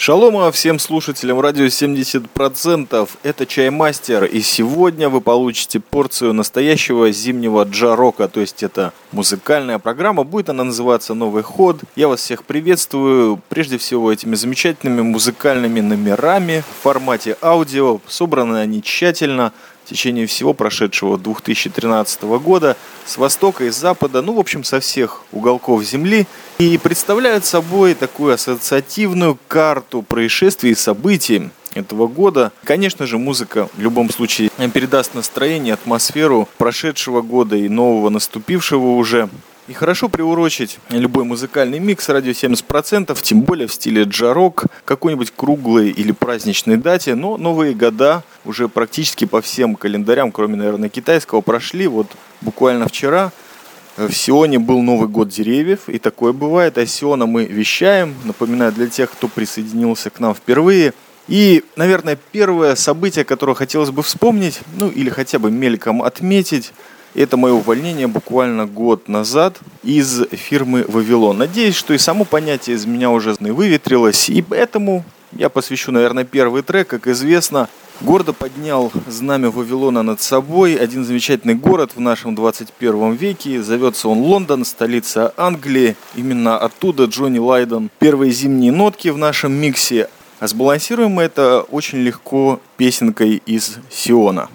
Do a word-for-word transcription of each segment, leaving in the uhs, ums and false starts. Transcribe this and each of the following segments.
Шалома всем слушателям радио семьдесят процентов, это Чаймастер, и сегодня вы получите порцию настоящего зимнего джа-рока, то есть это музыкальная программа, будет она называться «Новый ход». Я вас всех приветствую, прежде всего этими замечательными музыкальными номерами в формате аудио, собраны они тщательно в течение всего прошедшего две тысячи тринадцатого года с востока и с запада, ну, в общем, со всех уголков земли, и представляют собой такую ассоциативную карту происшествий и событий этого года. Конечно же, музыка в любом случае передаст настроение, атмосферу прошедшего года и нового наступившего уже. И хорошо приурочить любой музыкальный микс радио семьдесят процентов, тем более в стиле джа-рок, какой-нибудь круглой или праздничной дате, но новые года уже практически по всем календарям, кроме, наверное, китайского, прошли. Вот буквально вчера в Сионе был Новый год деревьев, и такое бывает. О Сиона мы вещаем, напоминаю для тех, кто присоединился к нам впервые. И, наверное, первое событие, которое хотелось бы вспомнить, ну или хотя бы мельком отметить, это мое увольнение буквально год назад из фирмы «Вавилон». Надеюсь, что и само понятие из меня уже выветрилось, и поэтому я посвящу, наверное, первый трек. Как известно, гордо поднял знамя Вавилона над собой один замечательный город в нашем двадцать первом веке. Зовется он Лондон, столица Англии. Именно оттуда Джонни Лайден. Первые зимние нотки в нашем миксе. А сбалансируем мы это очень легко песенкой из Сиона.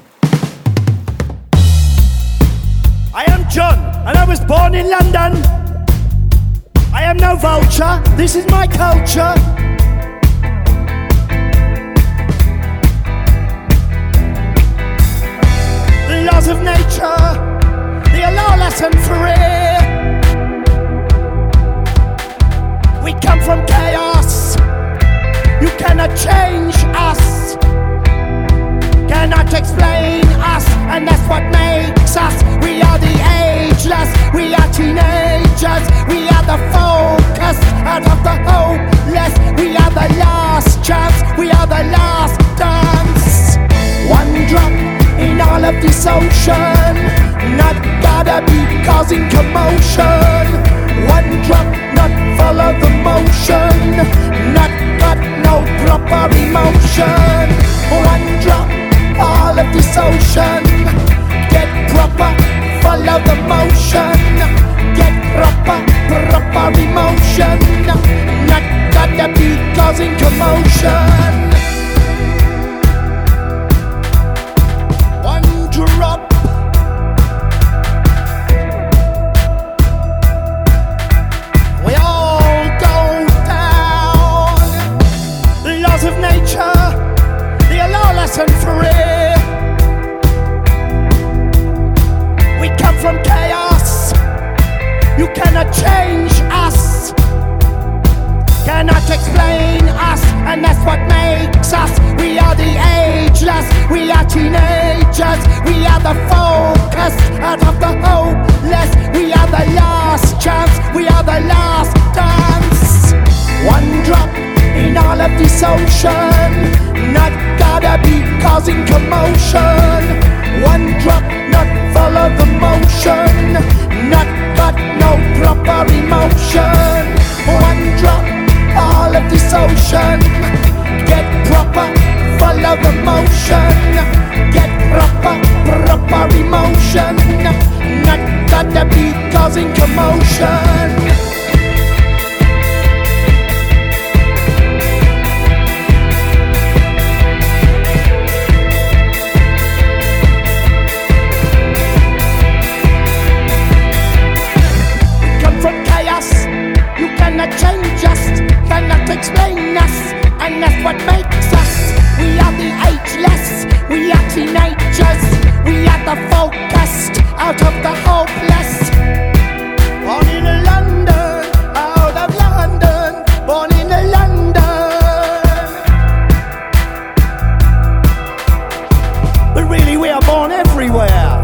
I am John, and I was born in London. I am no vulture, this is my culture. The laws of nature, they are lawless and free. We come from chaos, you cannot change us, cannot explain us, and that's what makes us. We are the ageless, we are teenagers, we are the focus out of the hopeless. We are the last chance, we are the last dance. One drop in all of this ocean, not gotta be causing commotion. One drop, not follow the motion, not got no proper emotion. One drop, all of this ocean, get proper, follow the motion, get proper, proper emotion, not gotta be causing commotion. One drop, we all go down. The laws of nature, they are lawless and free. We come from chaos, you cannot change us, cannot explain us, and that's what makes us. We are the ageless, we are teenagers, we are the focus out of the hopeless. We are the last chance, we are the last dance. One drop in all of this ocean, not gotta be causing commotion. One drop, not follow the motion, not got no proper emotion. One drop, all of this ocean, get proper, follow the motion, get proper, proper emotion, not gotta be causing commotion. Cannot change us, cannot explain us, and that's what makes us. We are the ageless, we are teenagers, we are the focused out of the hopeless. Born in London, out of London, born in London. But really we are born everywhere.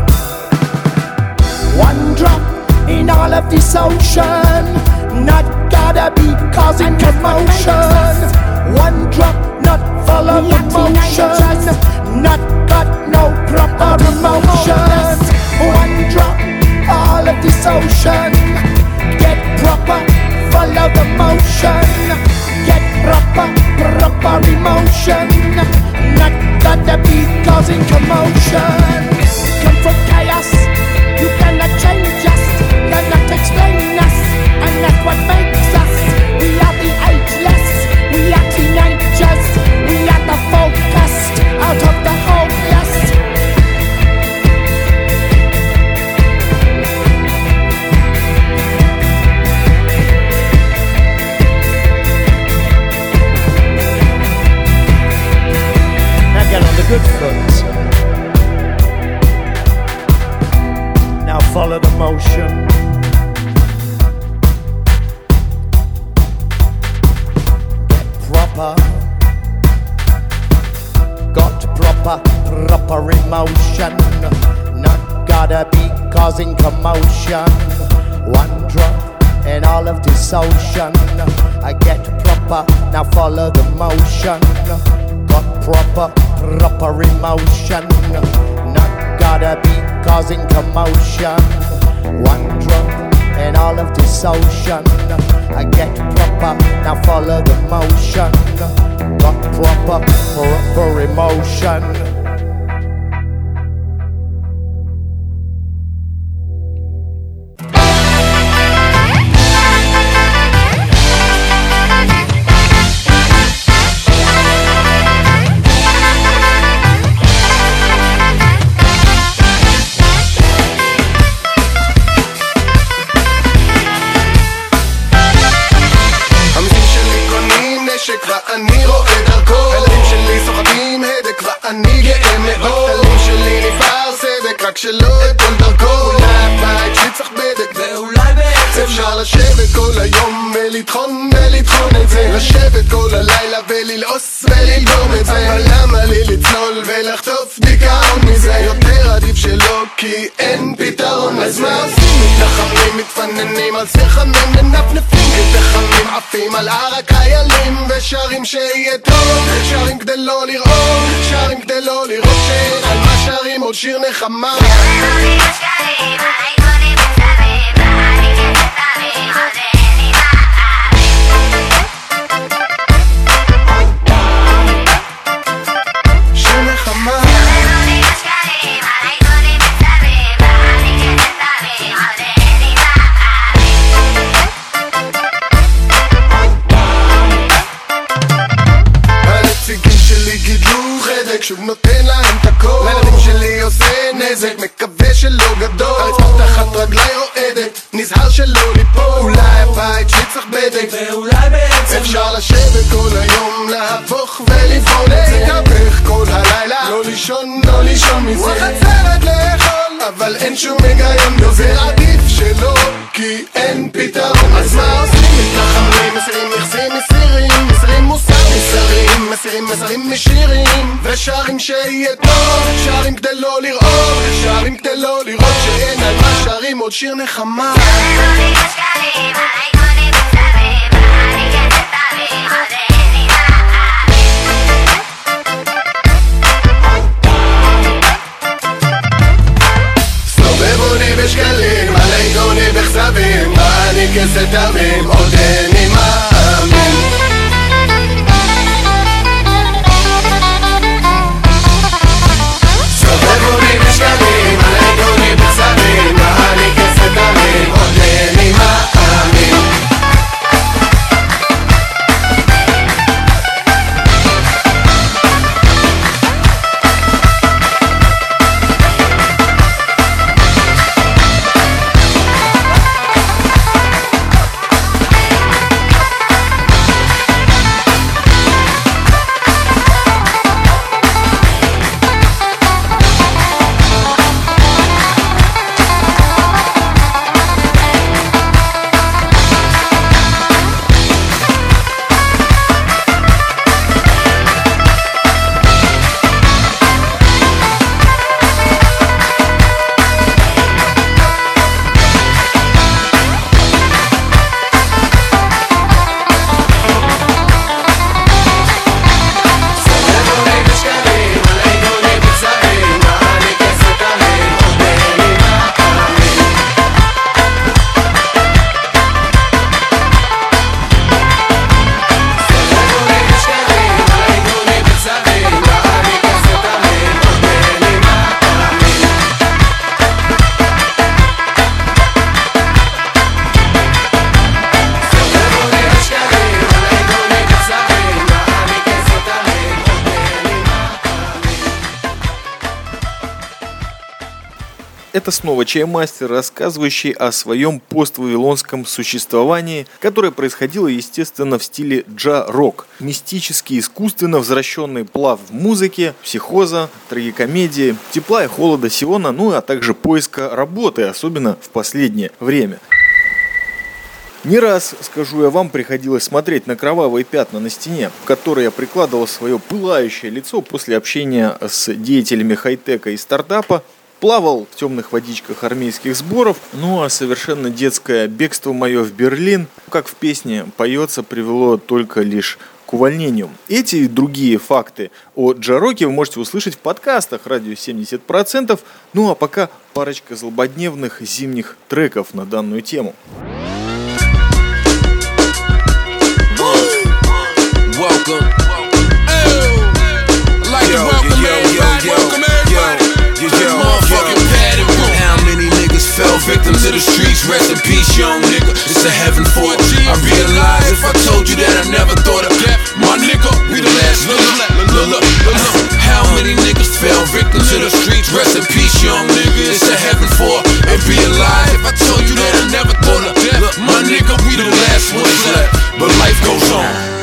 One drop in all of this ocean, not gotta be causing commotion. One drop, not follow the motion, not got no proper emotion. One drop, all of this ocean, get proper, follow the motion, get proper, proper follow the motion. Get proper. Got proper, proper emotion. Not gotta be causing commotion. One drop and all of this ocean. I get proper, now follow the motion. Got proper, proper emotion. Not gotta be causing commotion. One drop and all of this ocean. I get proper, now follow the motion. Got proper, proper emotion. ואני רואה דרכו הילדים שלי סוחבים הדק ואני גאה מאוד הילדים שלי נפער סדק רק שלא אתן דרכו אולי הבית שלי צריך בדק ואולי בעצם אפשר לשבת כל היום ולטחון ולטחון את זה לשבת כל הלילה וללעוס וללדום את זה אבל למה לי לצלול ולחטוף דיכאון מזה יותר עדיף שלא כי אין פתרון אז מה עושים? מתנחמים מתפננים על סחמים ונפנפים מתנחמים עפים על הר הקיילים ושרים שיהיה טוב שרים כדי לא לראות שרים כדי לא לראות שאין על מה שרים עוד שיר נחמה שיר נחמה שוב נותן להם את הכל לילדים שלי עושה נזק מקווה שלא גדול הרצפה תחת רגליי רועדת נזהר שלא ליפול אולי הבית שלי צריך בדק ואולי בעצם אפשר לשבת כל היום להפוך ולבחון את זה להתהפך כל הלילה לא לישון לא לישון מזה וחצרת לאכול אבל אין שום היגיון בזה עדיף שלא כי אין פתרון אז מה עושים? מתנחמים מסירים מכסים מסירים מסירים מוסר מסירים מסירים מסירים משירים ושרים שיהיה טוב שרים כדי לא לראות שרים כדי לא לראות שאין על מה שרים עוד שיר נחמה סובבוני בשקלים עלי גוני בכסבים אני כסת תמים עוד אני מאמין סובבוני בשקלים עלי גוני בכסבים אני כסת תמים עוד אני מאמין Это снова Чаймастер, рассказывающий о своем поствавилонском существовании, которое происходило, естественно, в стиле джа-рок. Мистически, искусственно возвращенный плав в музыке, психоза, трагикомедии, тепла и холода Сиона, ну а также поиска работы, особенно в последнее время. Не раз, скажу я вам, приходилось смотреть на кровавые пятна на стене, в которые я прикладывал свое пылающее лицо после общения с деятелями хай-тека и стартапа, плавал в темных водичках армейских сборов, ну а совершенно детское бегство мое в Берлин, как в песне поется, привело только лишь к увольнению. Эти и другие факты о джа-роке вы можете услышать в подкастах «Радио семьдесят процентов», ну а пока парочка злободневных зимних треков на данную тему. Welcome. I'd like to welcome everybody. Welcome everybody. Yo, yo, yo, motherfucking padded room. How many niggas fell victim to the streets? Rest in peace, young nigga. It's a heaven for it. I realize if I told you that I never thought of my nigga, we the last nigga. Look, look, look. How many niggas fell victim to the streets? Rest in peace, young nigga. It's a heaven for it. And realize if I told you that I never thought of my nigga, we the last ones left. But life goes on.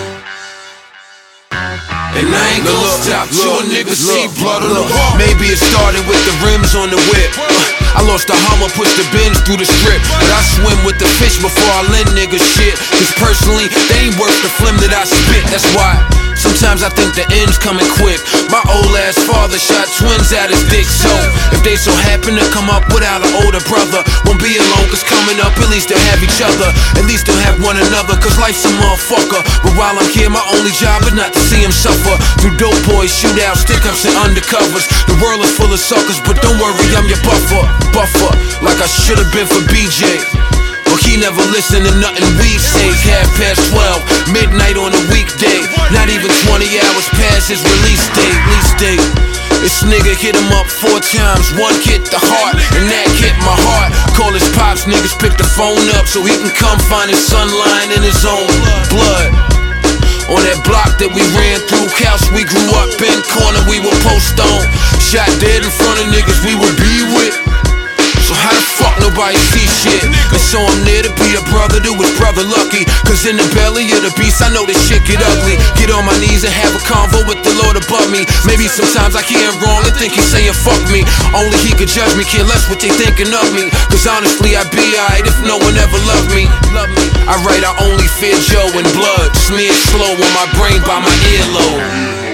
And I ain't gon' look, stop till a nigga see blood on the wall. Maybe it started with the rims on the whip. uh, I lost the Hummer, pushed the Benz through the strip. But I swim with the fish before I lend niggas shit. Cause personally, they ain't worth the phlegm that I spit. That's why sometimes I think the end's coming quick. My old ass father shot twins out his dick. So if they so happen to come up without an older brother, won't be alone, cause coming up at least they'll have each other. At least they'll have one another, cause life's a motherfucker. But while I'm here, my only job is not to see him suffer. Through dope boys, shootouts, stick-ups and undercovers. The world is full of suckers, but don't worry, I'm your buffer. Buffer, like I should've been for B J. But he never listened to nothing we say. Half past twelve, midnight on a weekday. Not even twenty hours past his release date. Release date. This nigga hit him up four times. One hit the heart, and that hit my heart. Call his pops, niggas pick the phone up so he can come find his son lying in his own blood. On that block that we ran through, house we grew up in, corner we were post on. Shot dead in front of niggas we would be with. So how the fuck nobody see shit? And so I'm there to be a brother to his brother Lucky. Cause in the belly of the beast I know this shit get ugly. Get on my knees and have a convo with the Lord above me. Maybe sometimes I hear him wrong and think he's saying fuck me. Only he could judge me, care less what they thinking of me. Cause honestly I'd be alright if no one ever loved me. I write I only fear Joe and blood. Smeared slow on my brain by my earlobe.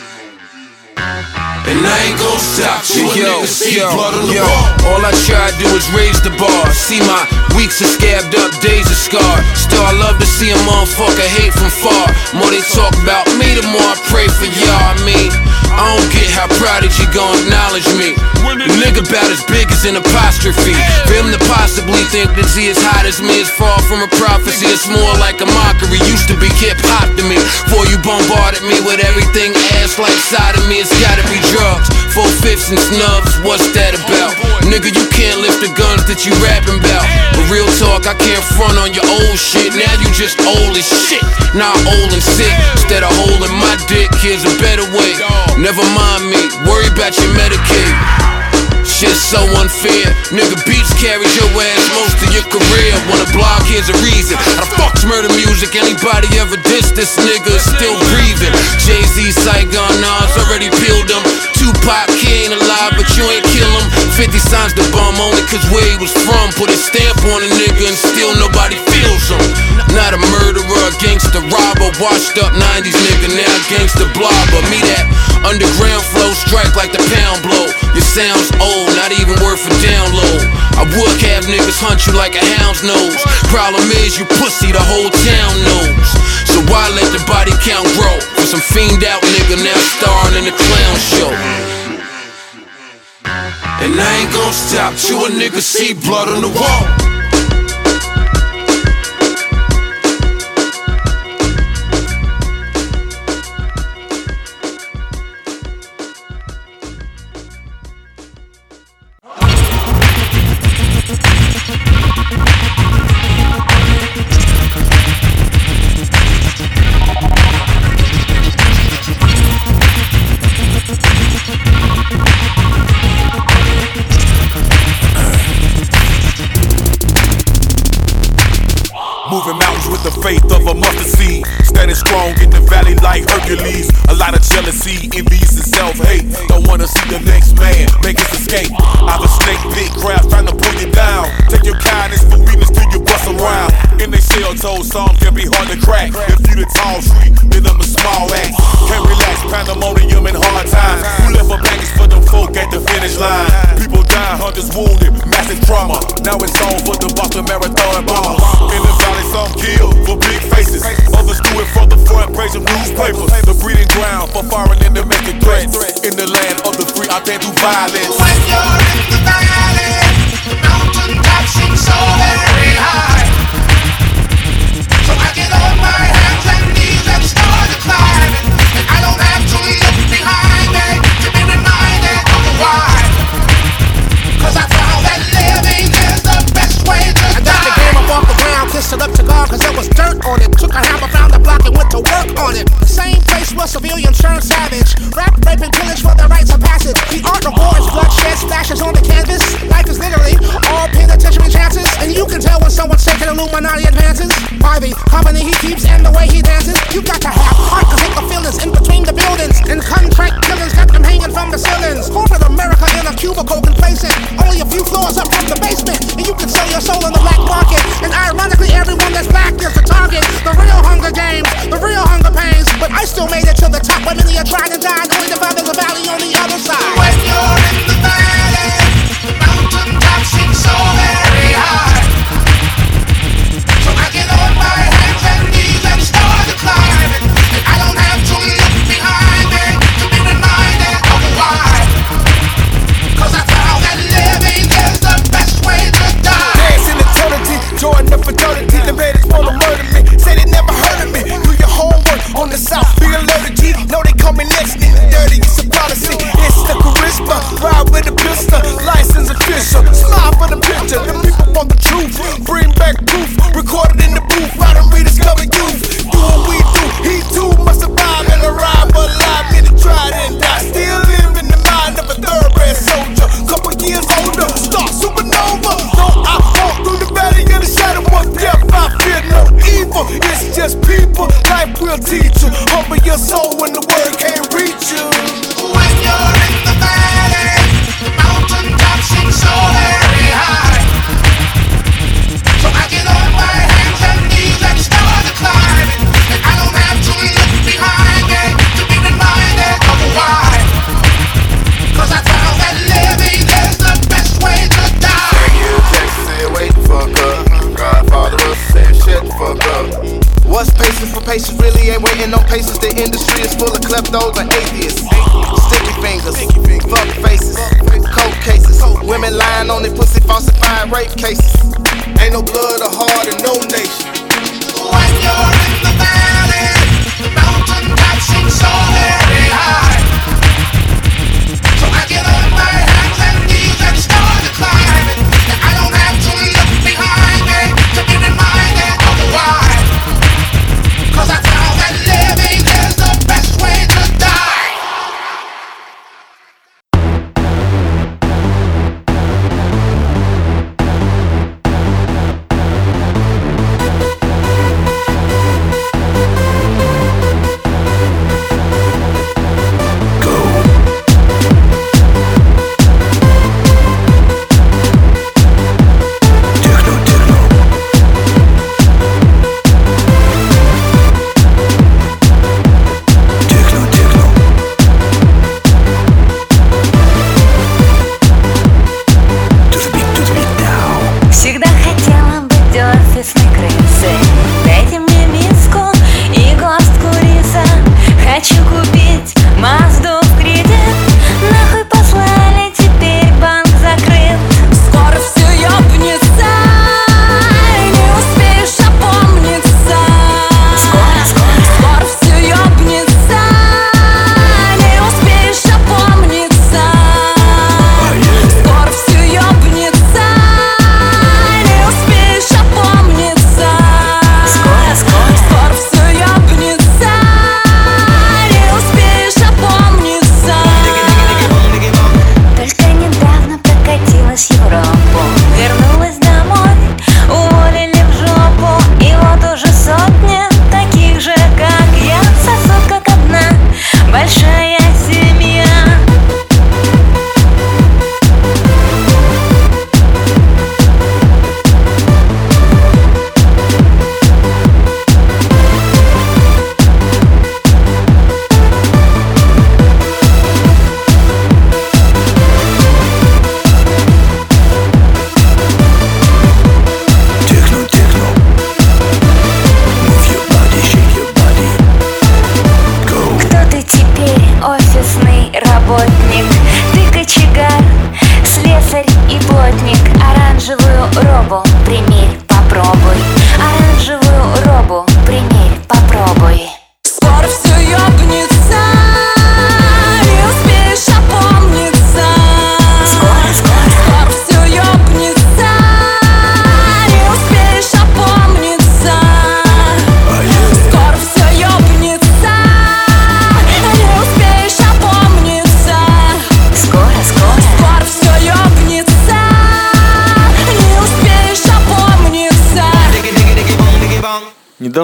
And I ain't gon' stop till a nigga see blood on the wall. All I try to do is raise the bar. See my weeks are scabbed up, days are scarred. Still I love to see a motherfucker hate from far. More they talk about me, the more I pray for y'all. I mean, I don't get how Prodigy gon' acknowledge me. The nigga bout as big as an apostrophe. For him to possibly think that he as hot as me is far from a prophecy. It's more like a mockery. Used to be hip hop to me. Before you bombarded me with everything ass like side of me, it's gotta be drugs. Four fifths and snubs, what's that about? Nigga, you can't lift the guns that you rapping about. But real talk, I can't front on your old shit. Now you just old as shit. Now I'm old and sick. Instead of holding my dick, here's a better way. Never mind me, worry about your Medicaid. Shit's so unfair. Nigga, beats carried your ass most of your career. Wanna blog, here's a reason. How the fuck's murder music? Anybody ever dissed this nigga is still breathing. Jay-Z, Saigon, Nas already peeled him. Tupac, he ain't alive, but you ain't kill him. fifty signs the bum only cause where he was from. Put a stamp on a nigga and still nobody feels him. Not a murderer, a gangster robber. Washed up nineties nigga, now gangster blobber. Me that underground flow strike like the pound blow. Your sound's old, not even worth a download. I would have niggas hunt you like a hound's nose. Problem is you pussy, the whole town knows. So why let the body count grow? For some fiend out nigga now starring in the clown show. And I ain't gon' stop till a nigga see blood on the wall. valley like Hercules. A lot of jealousy, envies, and self-hate. Don't wanna see the next man make his escape. I'm a snake pit crab trying to pull you down. Take your kindness for weakness till you bust around. In they shell toe, some can be hard to crack. If you the tall street, then I'm a small axe. Can't relax, pandemonium and hard times. Who left a package for them folk at the finish line? People die, hundreds wounded, massive trauma. Now it's on for the Boston Marathon bombers. In the valley, some kill for big faces. Others do it for the front page of newspapers. The breeding ground for foreign and domestic threats. In the land of the free, I can't do violence. When you're in the valley, the mountain top seems so very high. So I get on my hands and knees and start to climb. And I don't have to look behind me to be reminded of the why. Cause I found that living is the best way to die. I got the game up off the ground, kissed it up to God cause there was dirt on it. Took a hammer, found the block and went to work on it. The same place where civilians turn savage. Rap, rape, and pillage for the rights of passage. The art of war is bloodshed, splashes on the canvas. Life is literally all penitentiary chances. And you can tell when someone's taking Illuminati advances by the company he keeps and the way he dances. You got to have heart to take the feelings in between the buildings. And contract killings got them hanging from the ceilings. Corporate America in a cubicle complacent. Only a few floors up from the basement. And you can sell your soul in the black market. And ironically everyone that's black is the target. The real Hunger Games, the real hunger pains. But I still made it to the top. Where many have tried and died. Only to find there's a valley on the other side. When you're in the valley, the mountain top seems so very high. So I get on my hands and knees and start to climb. And I don't have to look behind me to be reminded of why. Cause I found that living is the best way to die. Dance in eternity, join the fraternity. The haters wanna murder me, say they never heard of me. Do your homework on the south, be alerted G. Know they coming next, nigga dirty, it's a policy. It's the charisma, ride with a pistol, license official. Smile for the picture, the people want the truth. Bring back proof, recorded in the booth. Ride and rediscover youth. Do what we do, he too must survive and arrive alive. Many tried and died, still live in the mind of a thoroughbred soldier. Couple years older, start supernova. No, I walk through the valley of the shadow of death. I fear no evil, it's just people. Life will teach you. Humble your soul when the word can't reach you. When you're in the valley, the mountain top seems so very high. So I get on my hands and knees and start to climb. And I don't have to look behind me to be reminded of why. Cause I found that living is the best way to die. You text said wait the fuck up. Godfather us said shut the fuck up. What's patience for patience? Really ain't waiting on patience. The industry is full of kleptos and atheists. Sticky fingers, fuck faces, cold cases. Women lying on their pussy, falsified rape cases. Ain't no blood or heart in no nation. When you're in the valley, the mountain top seems so very high. So I get on my hands and knees and start to climb. And I don't have to look behind me to be reminded of why. Cause I found that living is the best way to die.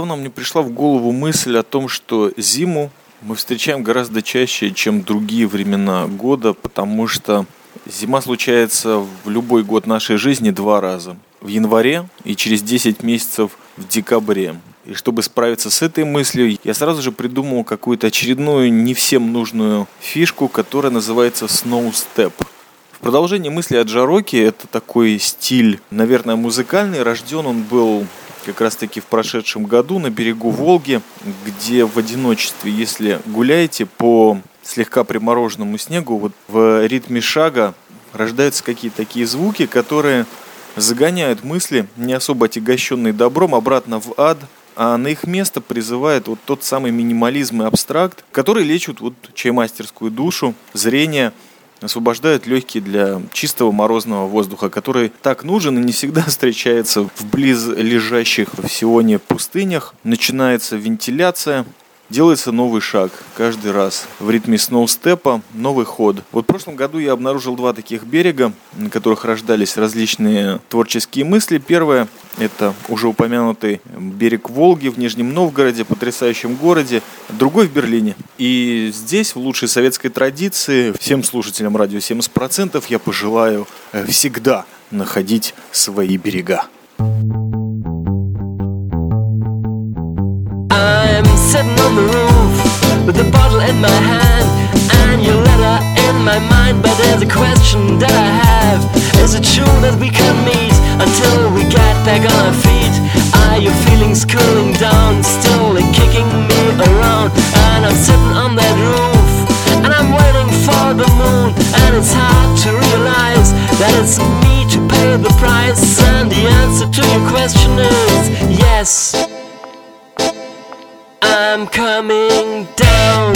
недавно мне пришла в голову мысль о том, что зиму мы встречаем гораздо чаще, чем другие времена года, потому что зима случается в любой год нашей жизни два раза. В январе и через десять месяцев в декабре. И чтобы справиться с этой мыслью, я сразу же придумал какую-то очередную, не всем нужную фишку, которая называется Snow Step. В продолжение мысли о Джароке, это такой стиль, наверное, музыкальный. Рожден он был как раз-таки в прошедшем году на берегу Волги, где в одиночестве, если гуляете по слегка примороженному снегу, вот в ритме шага рождаются какие-то такие звуки, которые загоняют мысли, не особо отягощенные добром, обратно в ад, а на их место призывает вот тот самый минимализм и абстракт, который лечат вот чаймастерскую душу, зрение, освобождают легкие для чистого морозного воздуха, который так нужен и не всегда встречается в близлежащих в Сионе пустынях. Начинается вентиляция, делается новый шаг каждый раз. В ритме сноустепа новый ход. Вот в прошлом году я обнаружил два таких берега, на которых рождались различные творческие мысли. Первое – это уже упомянутый берег Волги в Нижнем Новгороде, потрясающем городе. Другой в Берлине. И здесь, в лучшей советской традиции, всем слушателям радио семьдесят процентов я пожелаю всегда находить свои берега. I'm sitting on the roof with a bottle in my hand and your letter in my mind. But there's a question that I have. Is it true that we can meet until we get back on our feet? Are your feelings cooling down, still kicking me around? And I'm sitting on that roof and I'm waiting for the moon. And it's hard to realize that it's me to pay the price. And the answer to your question is yes, I'm coming down.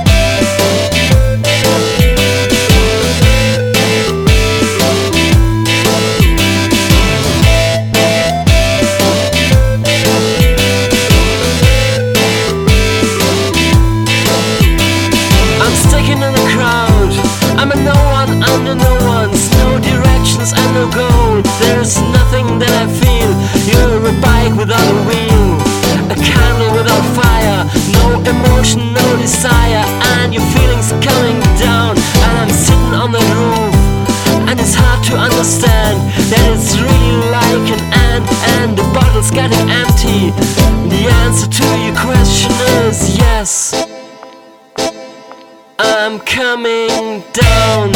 I'm sticking in the crowd. I'm a no one under no one's. No directions and no goal. There's nothing that I feel. You're a bike without a wheel, a candle without fire, no emotion, no desire, and your feelings coming down. And I'm sitting on the roof, and it's hard to understand that it's really like an ant, and the bottle's getting empty. The answer to your question is yes, I'm coming down.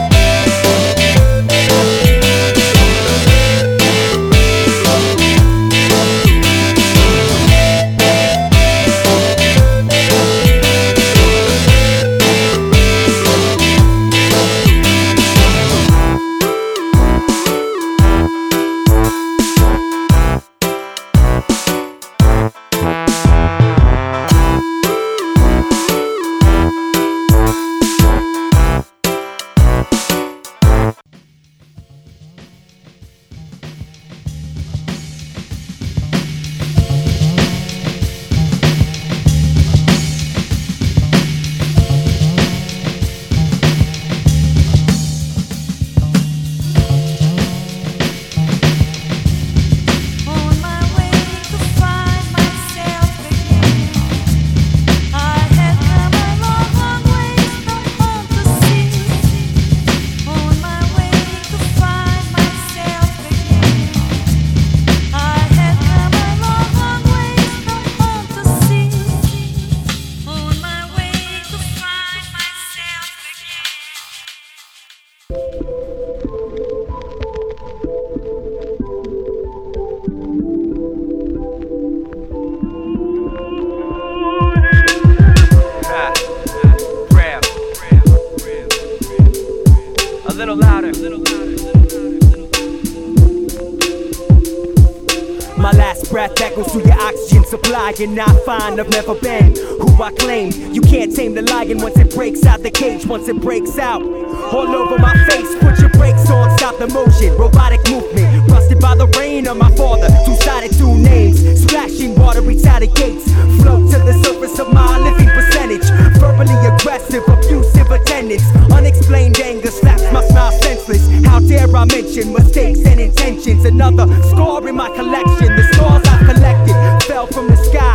And not fine, I've never been who I claim. You can't tame the lion once it breaks out the cage, once it breaks out. All over my face, put your brakes on, stop the motion. Robotic movement, rusted by the rain of my father. Two-sided, two names, splashing water retaliates. Float to the surface of my living percentage. Verbally aggressive, abusive attendance. Unexplained anger slaps my smile senseless. How dare I mention mistakes and intentions? Another scar in my collection. The scars I've collected fell from the sky.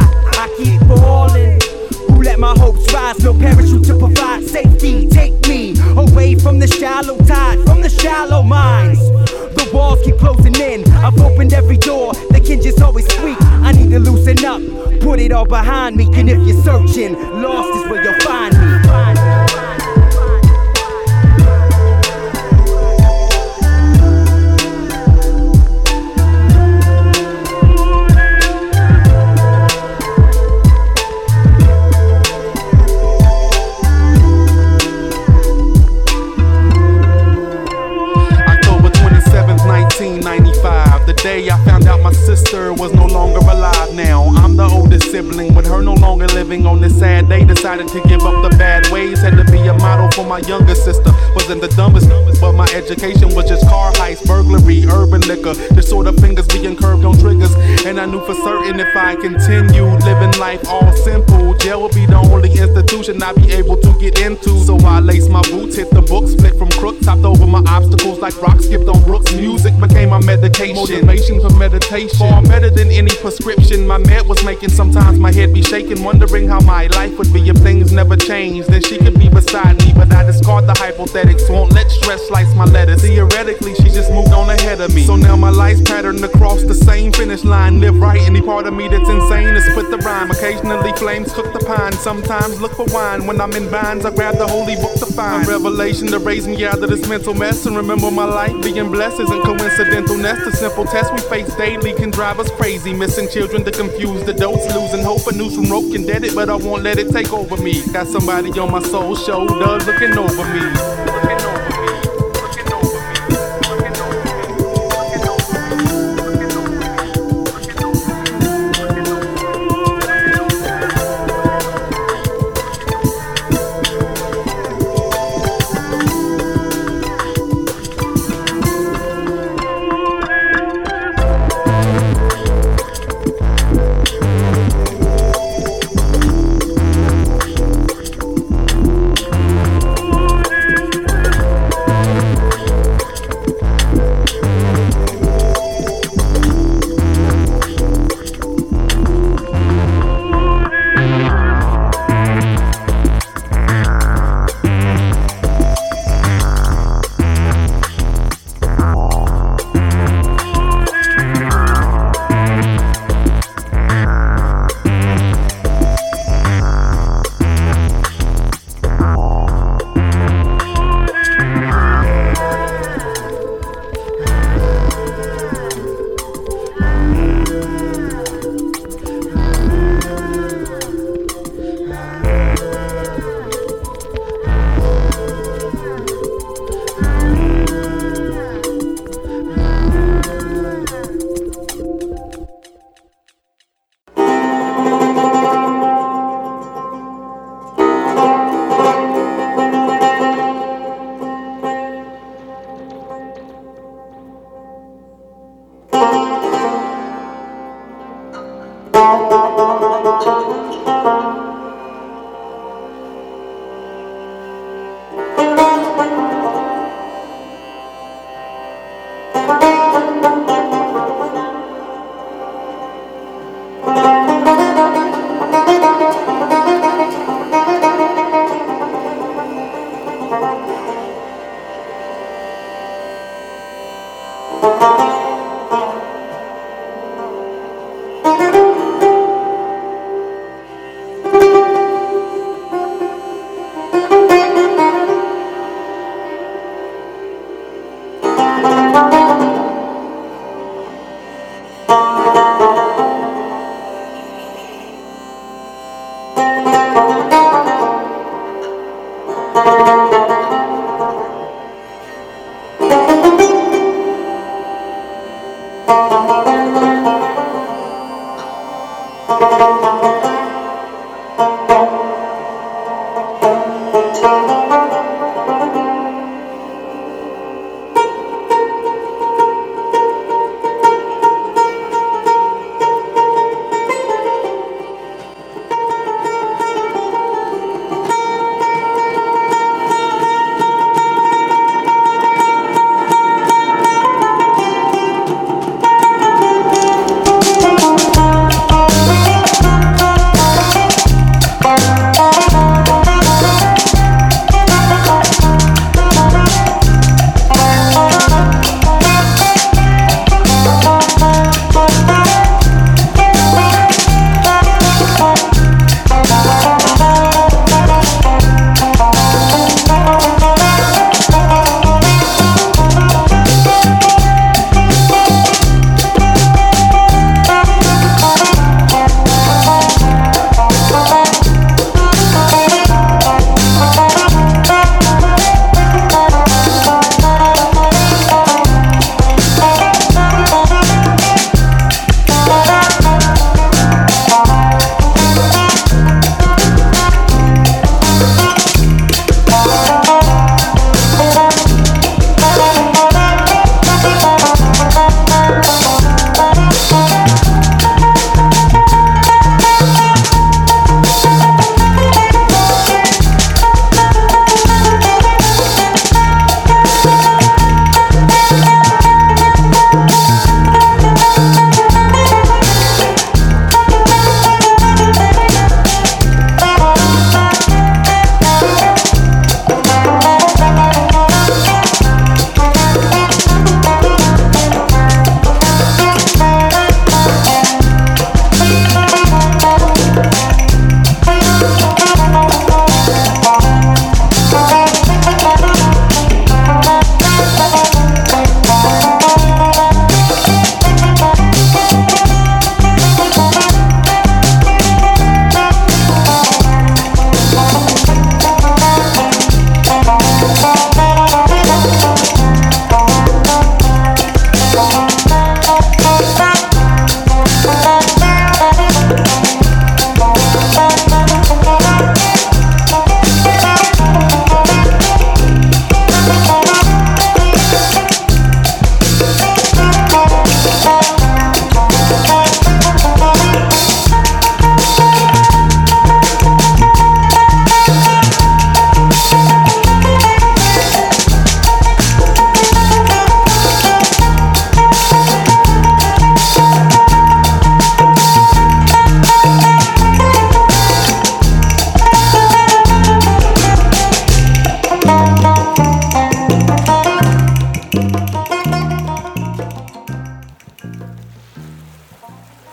rise, no parachute to provide safety. Take me away from the shallow tide, from the shallow minds. The walls keep closing in. I've opened every door, the hinges always squeak. I need to loosen up, put it all behind me. And if you're searching, lost is where you'll find me. Day I found out my sister was no longer alive now. I'm the oldest sibling, with her no longer living. On this sad day, decided to give up the bad ways. Had to be a model for my younger sister. Wasn't the dumbest, but my education was just car heist, burglary, urban liquor. The sort of fingers being curved on triggers. And I knew for certain if I continued living life all simple, jail would be the only institution I'd be able to get into. So I laced my boots, hit the books, split from crooks, hopped over my obstacles like rocks, skipped on brooks. Music became my medication. Motivation for meditation, far better than any prescription my med was making. Sometimes my head be shaking, wondering how my life would be if things never changed. Then she could be beside me, but I discard the hypothetics. Won't let stress slice my letters. Theoretically, she just moved on ahead of me. So now my life's patterned across the same finish line. Live right, any part of me that's insane is split the rhyme. Occasionally flames cook the pine. Sometimes look for wine. When I'm in binds, I grab the holy book to find a revelation to raise me out of this mental mess. And remember my life being blessed isn't coincidentalness. The simple test we face daily can drive us crazy. Missing children to confuse the adults, losing hope. A noose from rope can dead it, but I won't let it take over me. Got somebody on my soul shoulder looking over me. Looking over me.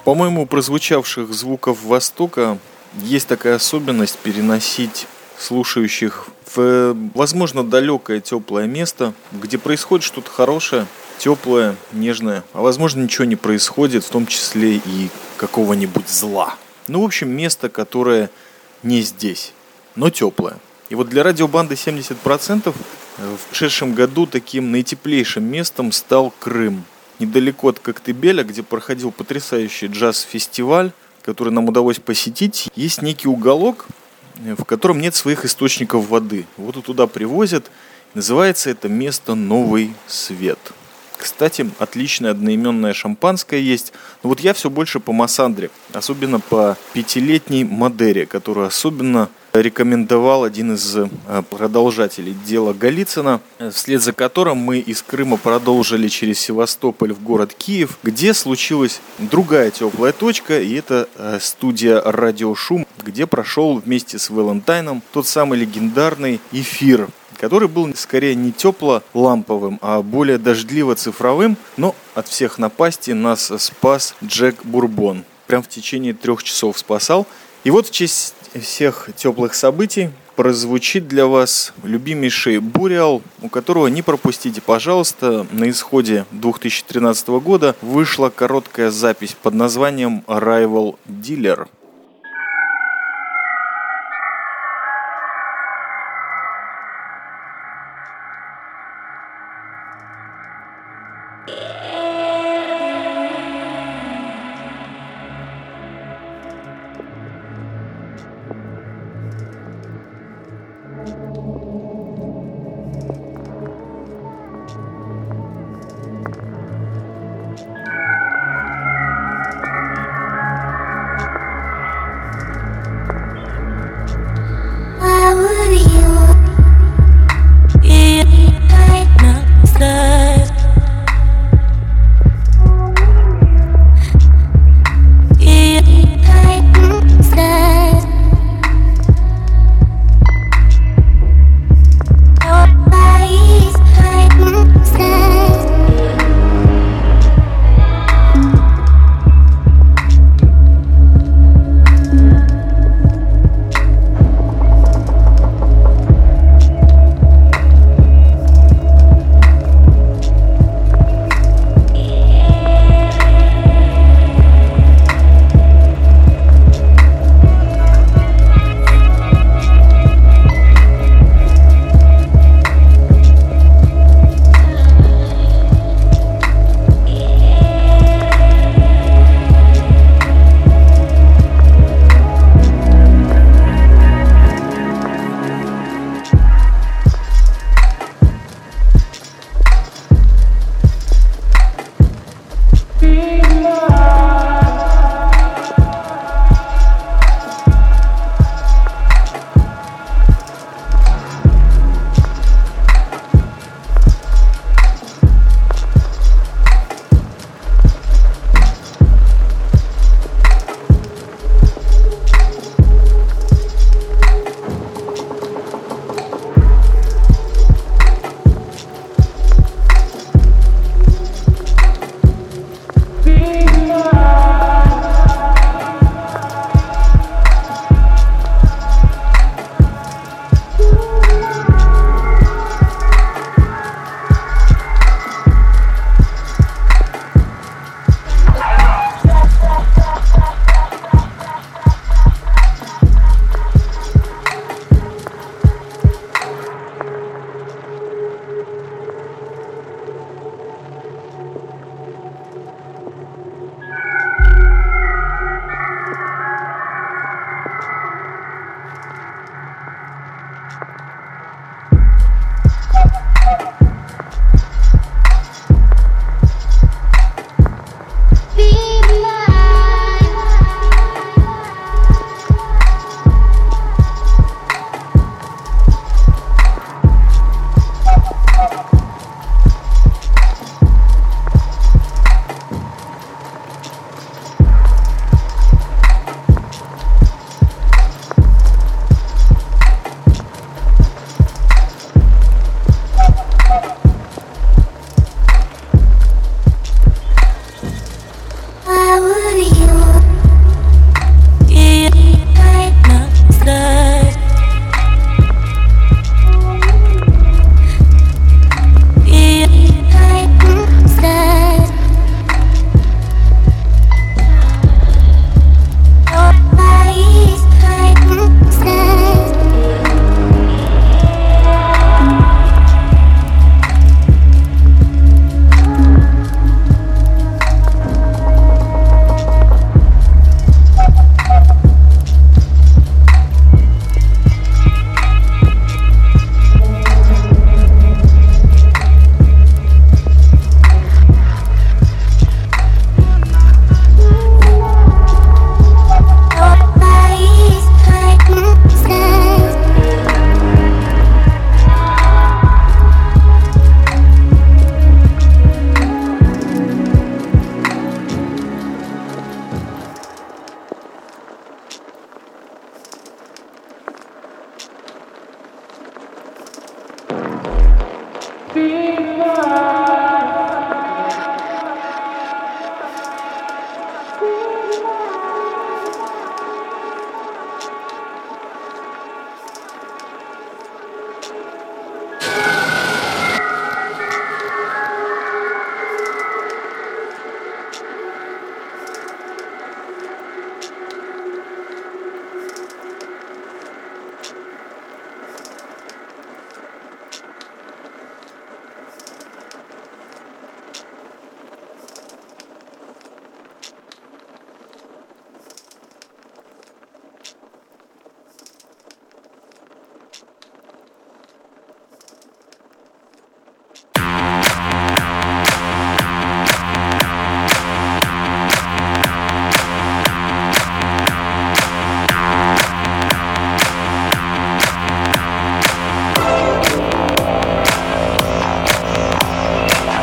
По-моему, у прозвучавших звуков Востока есть такая особенность переносить слушающих в, возможно, далекое теплое место, где происходит что-то хорошее, теплое, нежное, а возможно, ничего не происходит, в том числе и какого-нибудь зла. Ну, в общем, место, которое не здесь, но теплое. И вот для радиобанды семьдесят процентов в прошедшем году таким наитеплейшим местом стал Крым. Недалеко от Коктебеля, где проходил потрясающий джаз-фестиваль, который нам удалось посетить, есть некий уголок, в котором нет своих источников воды. Вот и туда привозят. Называется это место Новый Свет. Кстати, отличное одноименное шампанское есть. Но вот я все больше по Массандре, особенно по пятилетней Мадере, которую особенно рекомендовал один из продолжателей дела Голицына, вслед за которым мы из Крыма продолжили через Севастополь в город Киев, где случилась другая теплая точка, и это студия «Радио Шум», где прошел вместе с Валентайном тот самый легендарный эфир, который был скорее не тепло-ламповым, а более дождливо-цифровым, но от всех напастей нас спас Джек Бурбон. Прям в течение трех часов спасал. И вот в честь всех теплых событий прозвучит для вас любимейший Буриал, у которого не пропустите, пожалуйста. На исходе две тысячи тринадцатого года вышла короткая запись под названием Rival Dealer.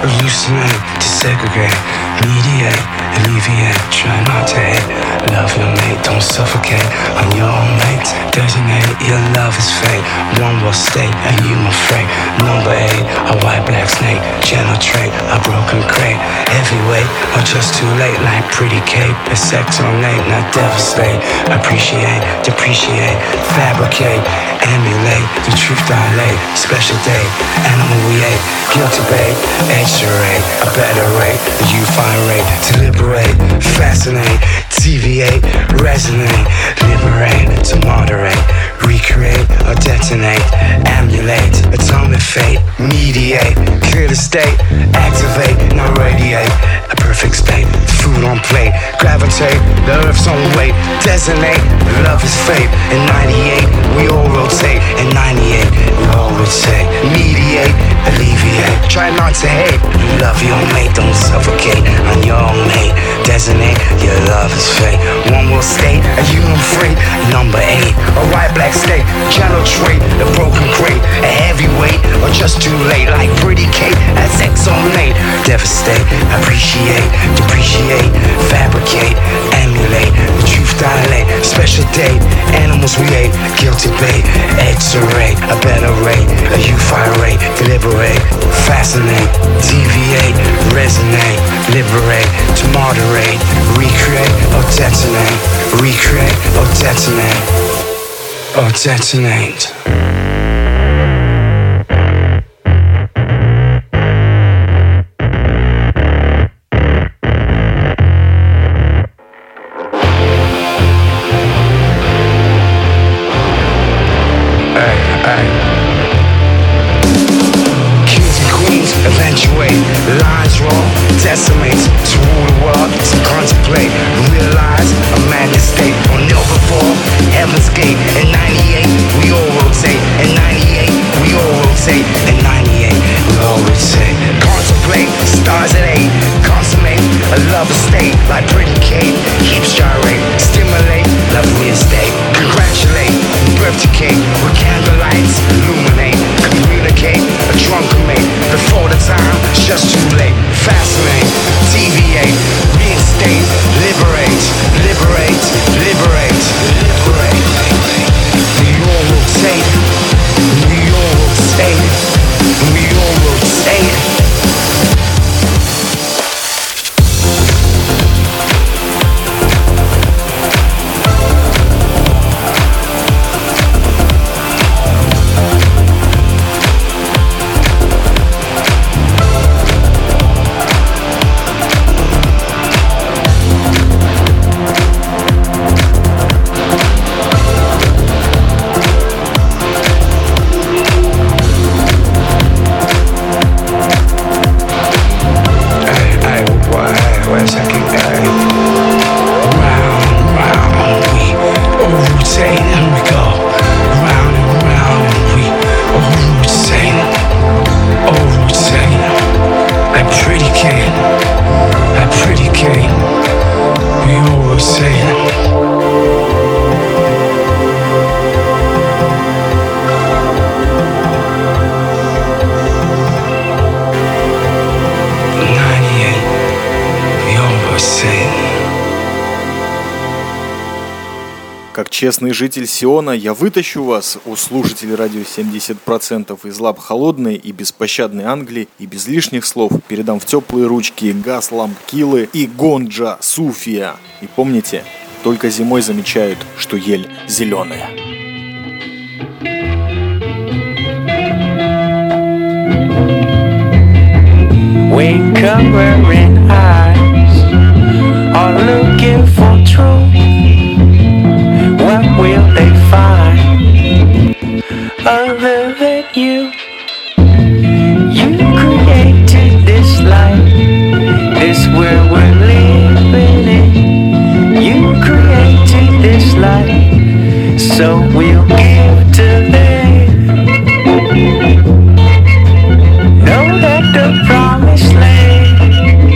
Hallucinate, desegregate, mediate, alleviate, try not to hate. Love your mate, don't suffocate on your own mate. Designate, your love is fate. One will state, and you my freight. Number eight, a white black snake. Gentle trait, a broken crate. Heavyweight, or just too late, like pretty cape. A sex ornate, not devastate. Appreciate, depreciate, fabricate, emulate. The truth dilate, special day. Animal we ate, guilty bait. X-ray, a better rate. You find rate, deliberate, fascinate. Deviate, resonate, liberate, to moderate, recreate or detonate, emulate, atomic fate, mediate, clear the state, activate, now radiate, a perfect state, food on plate, gravitate, the earth's on weight, designate, love is fate, in ninety-eight, we all rotate, in ninety-eight, we all rotate, mediate, alleviate, try not to hate, love your mate, don't suffocate, on your own mate, designate, your love is fate, one will state, a human freight, number eight, a white black state, general trait, the broken crate, a heavyweight, or just too late, like pretty Kate, as sex on mate, devastate, appreciate, depreciate, fabricate, emulate, the truth dilate, special date, animals we ate, guilty bait, X-ray, a better rate, a you fire rate, deliberate, fascinate, deviate, resonate, liberate, to moderate, recreate, or detonate, recreate, or detonate, or detonate. Decimates to rule the world, to contemplate, realize a madness state on never before, heaven's gate. In ninety-eight, we all rotate. In ninety-eight, we all rotate. In ninety-eight, we all rotate. Contemplate, stars at eight, consummate, a love estate, like pretty Kate, keeps gyrate, stimulate, love reinstate, congratulate, birth decay, with candlelights, illuminate, communicate, a drunken mate, before the time, it's just too late, fascinate, deviate, reinstate, liberate, liberate, liberate, liberate. We all rotate, we all rotate, we all rotate. Как честный житель Сиона, я вытащу вас, у слушателей радио семьдесят процентов, из лап холодной и беспощадной Англии, и без лишних слов передам в теплые ручки Газ Ламкилы и Гонджа Суфия. И помните, только зимой замечают, что ель зеленая. We covering eyes, are looking for truth. What will they find other than you? You created this life, this world we're living in. You created this life, so we'll give to them. Know that the promised land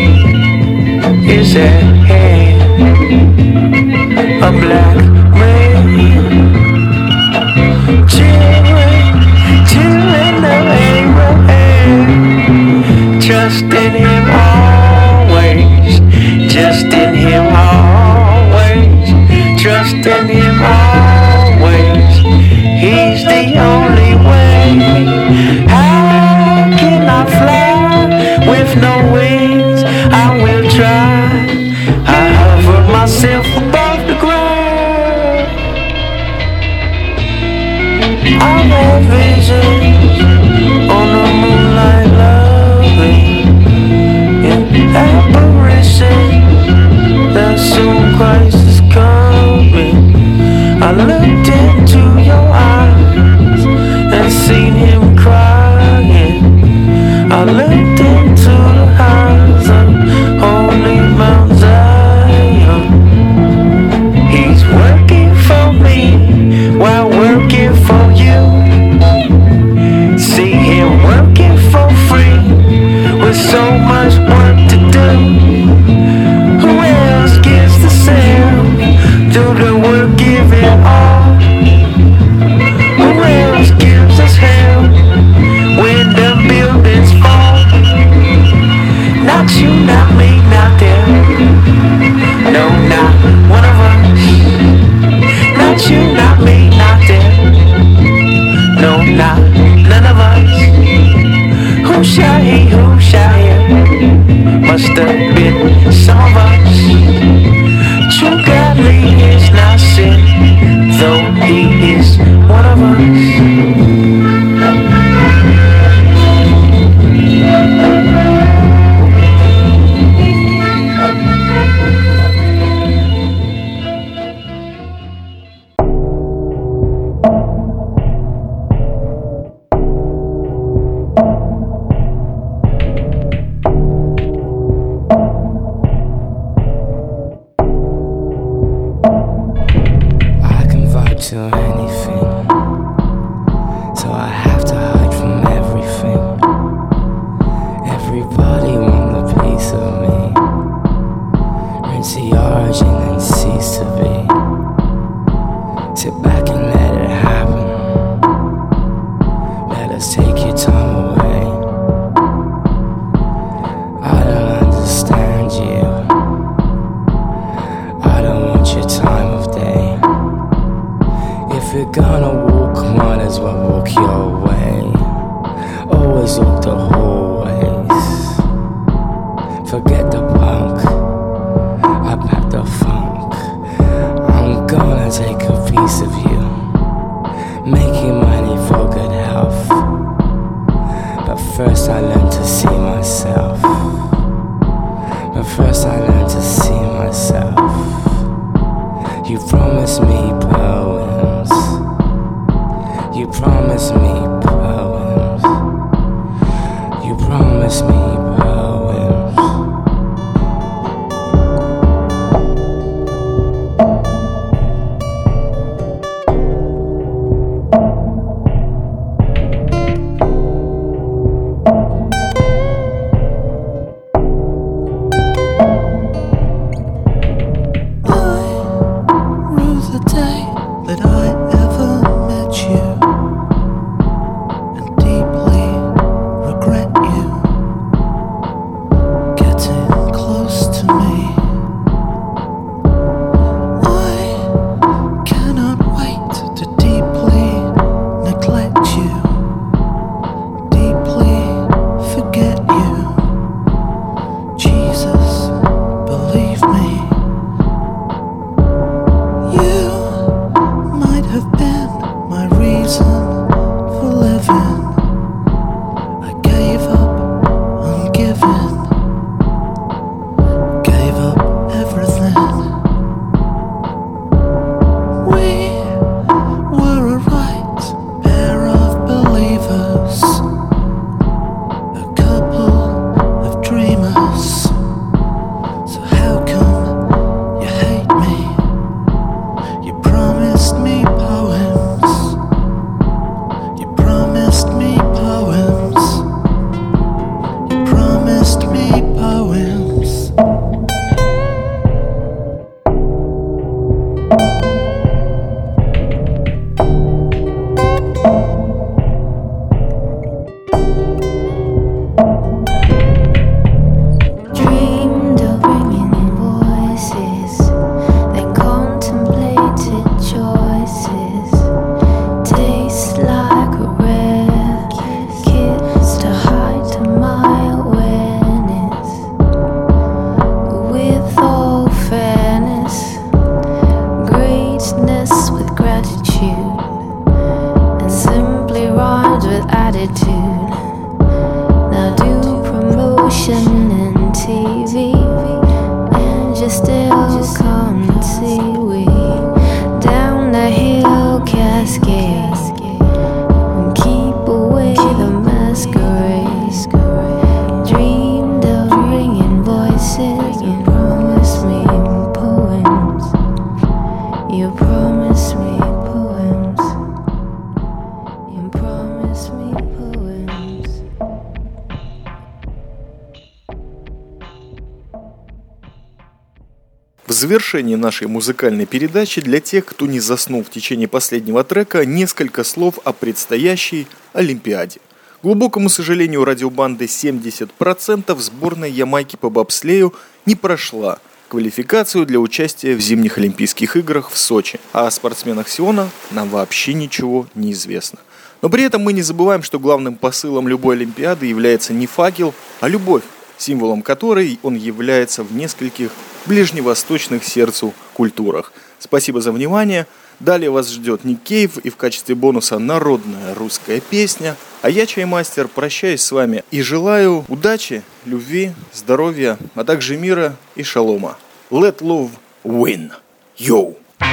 is at hand. A black man, children, children of Abraham, trust in Who shall he, who shall he? Must have been some of us. True godly is not sin, though he is one of us. To anything, so I have to hide from everything. Everybody want a piece of me. Rinse the origin and cease to be. Sit back and let it happen. Let us take your time away. I don't understand you. I don't want your time of day. If you're gonna walk, might as well walk your way. Always walk the hallways. Forget the punk, I pack the funk. I'm gonna take a piece of you, making money for good health. But first I learned to see myself. But first I learned to see myself. You promised me poems. You promised me poems. You promised me poems. В завершении нашей музыкальной передачи для тех, кто не заснул в течение последнего трека, несколько слов о предстоящей Олимпиаде. К глубокому сожалению, радиобанды семьдесят процентов сборная Ямайки по бобслею не прошла квалификацию для участия в зимних Олимпийских играх в Сочи, а о спортсменах Сиона нам вообще ничего не известно. Но при этом мы не забываем, что главным посылом любой Олимпиады является не факел, а любовь, символом которой он является в нескольких ближневосточных сердцу культурах. Спасибо за внимание. Далее вас ждет Ник Кейв и в качестве бонуса народная русская песня. А я, Чаймастер, прощаюсь с вами и желаю удачи, любви, здоровья, а также мира и шалома. Let love win. Йоу!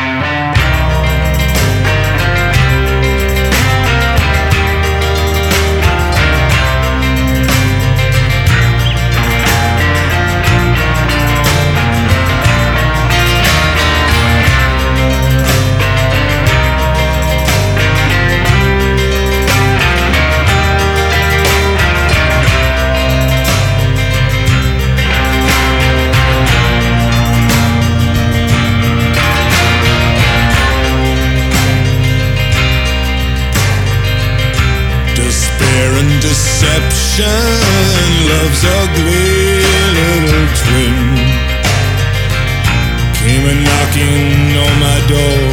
Love's ugly little twin came a knocking on my door.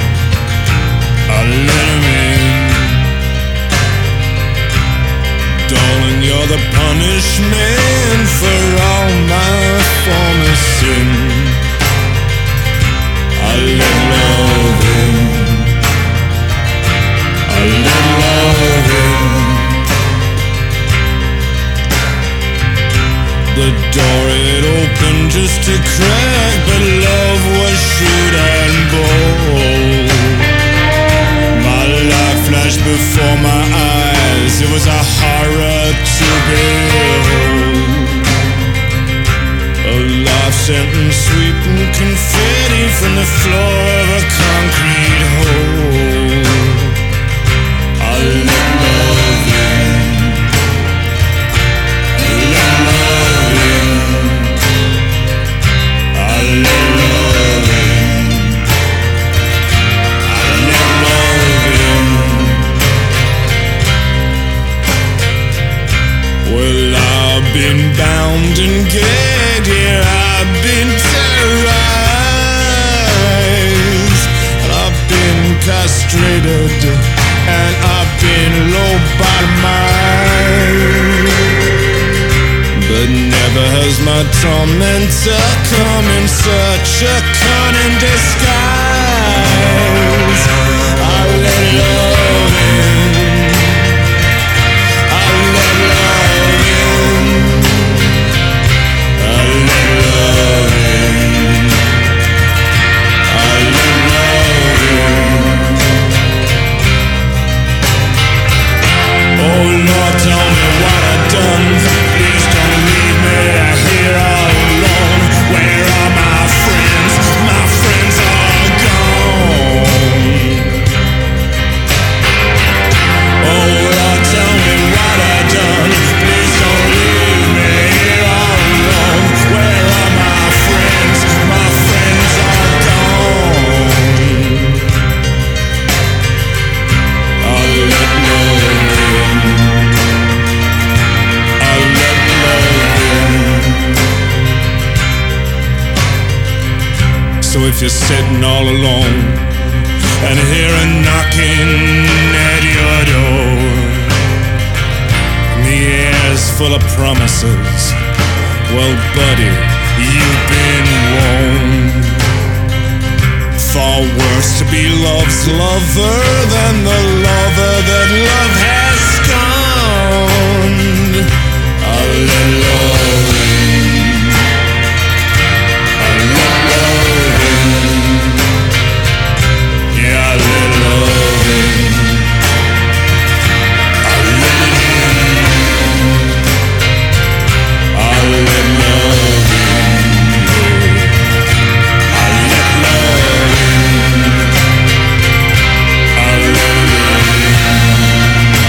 I let him in. Darling, you're the punishment for all my former sin. I let love in. I let love in. The door it opened just a crack, but love was shoot and bold. My life flashed before my eyes, it was a horror to behold. A life sentence sweeping confetti from the floor of a concrete hole. I let love in. I let love in. I let love in. I let love in. Well, I've been bound and gagged, yeah, I've been terrorized, and I've been castrated, and I've been lobotomized. But never has my tormentor come in such a cunning disguise. I let love in. I let love in. I let love in. I let love in. Oh Lord, tell me what I've done. Please don't leave me here all alone. Where are my friends? My friends are gone. Oh Lord, tell me what I've done. Please don't leave me here all alone. Where are my friends? My friends are gone. I let love in. I let love in. So if you're sitting all alone and hear a knocking at your door, and the air's full of promises, well, buddy, you've been warned. Far worse to be love's lover than the lover that love has scorned. I let love in. I let love in. Yeah, I let love in. I let it in. I let love in. I let love in. I let it in.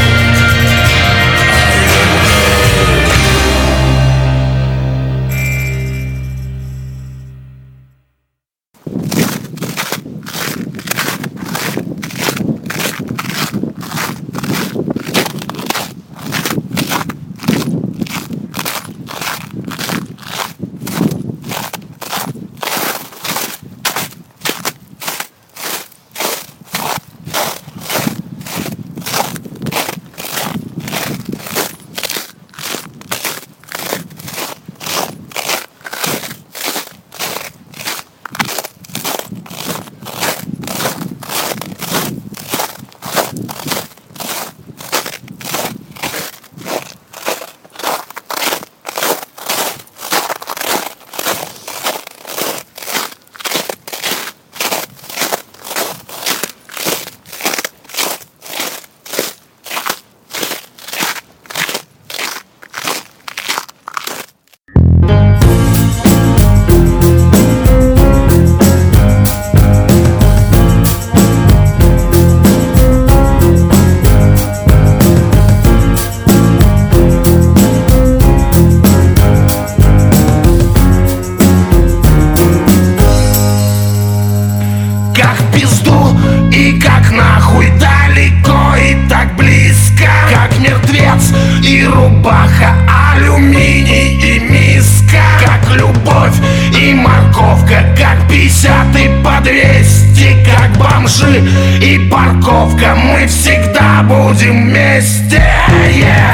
как мертвец и рубаха, алюминий и миска, как любовь и морковка, как пятьдесят и по двести, как бомжи и парковка. Мы всегда будем вместе, yeah.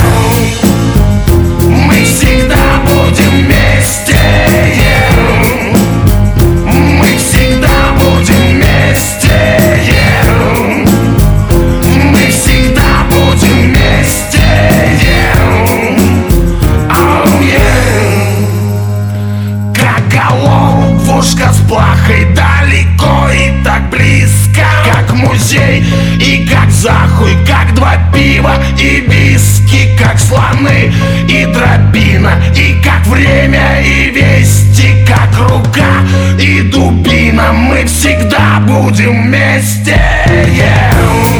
Мы всегда будем вместе, yeah. Мы всегда будем вместе, yeah. Мы всегда будем вместе, yeah. Oh, yeah. Как головушка с плахой, далеко и так близко, как музей и как захуй, как два пива и виски, как слоны и дробина, и как время и вести, как рука и дубина. Мы всегда будем вместе, yeah.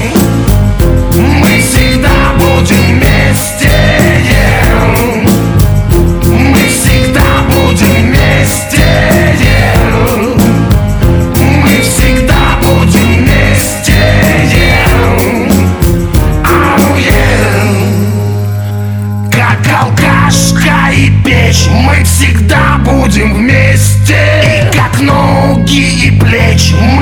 Мы всегда будем вместе, yeah. Мы всегда будем вместе, yeah. Мы всегда будем вместе, yeah. Oh, yeah. Как алкашка и печь, мы всегда будем вместе. И как ноги и плечи,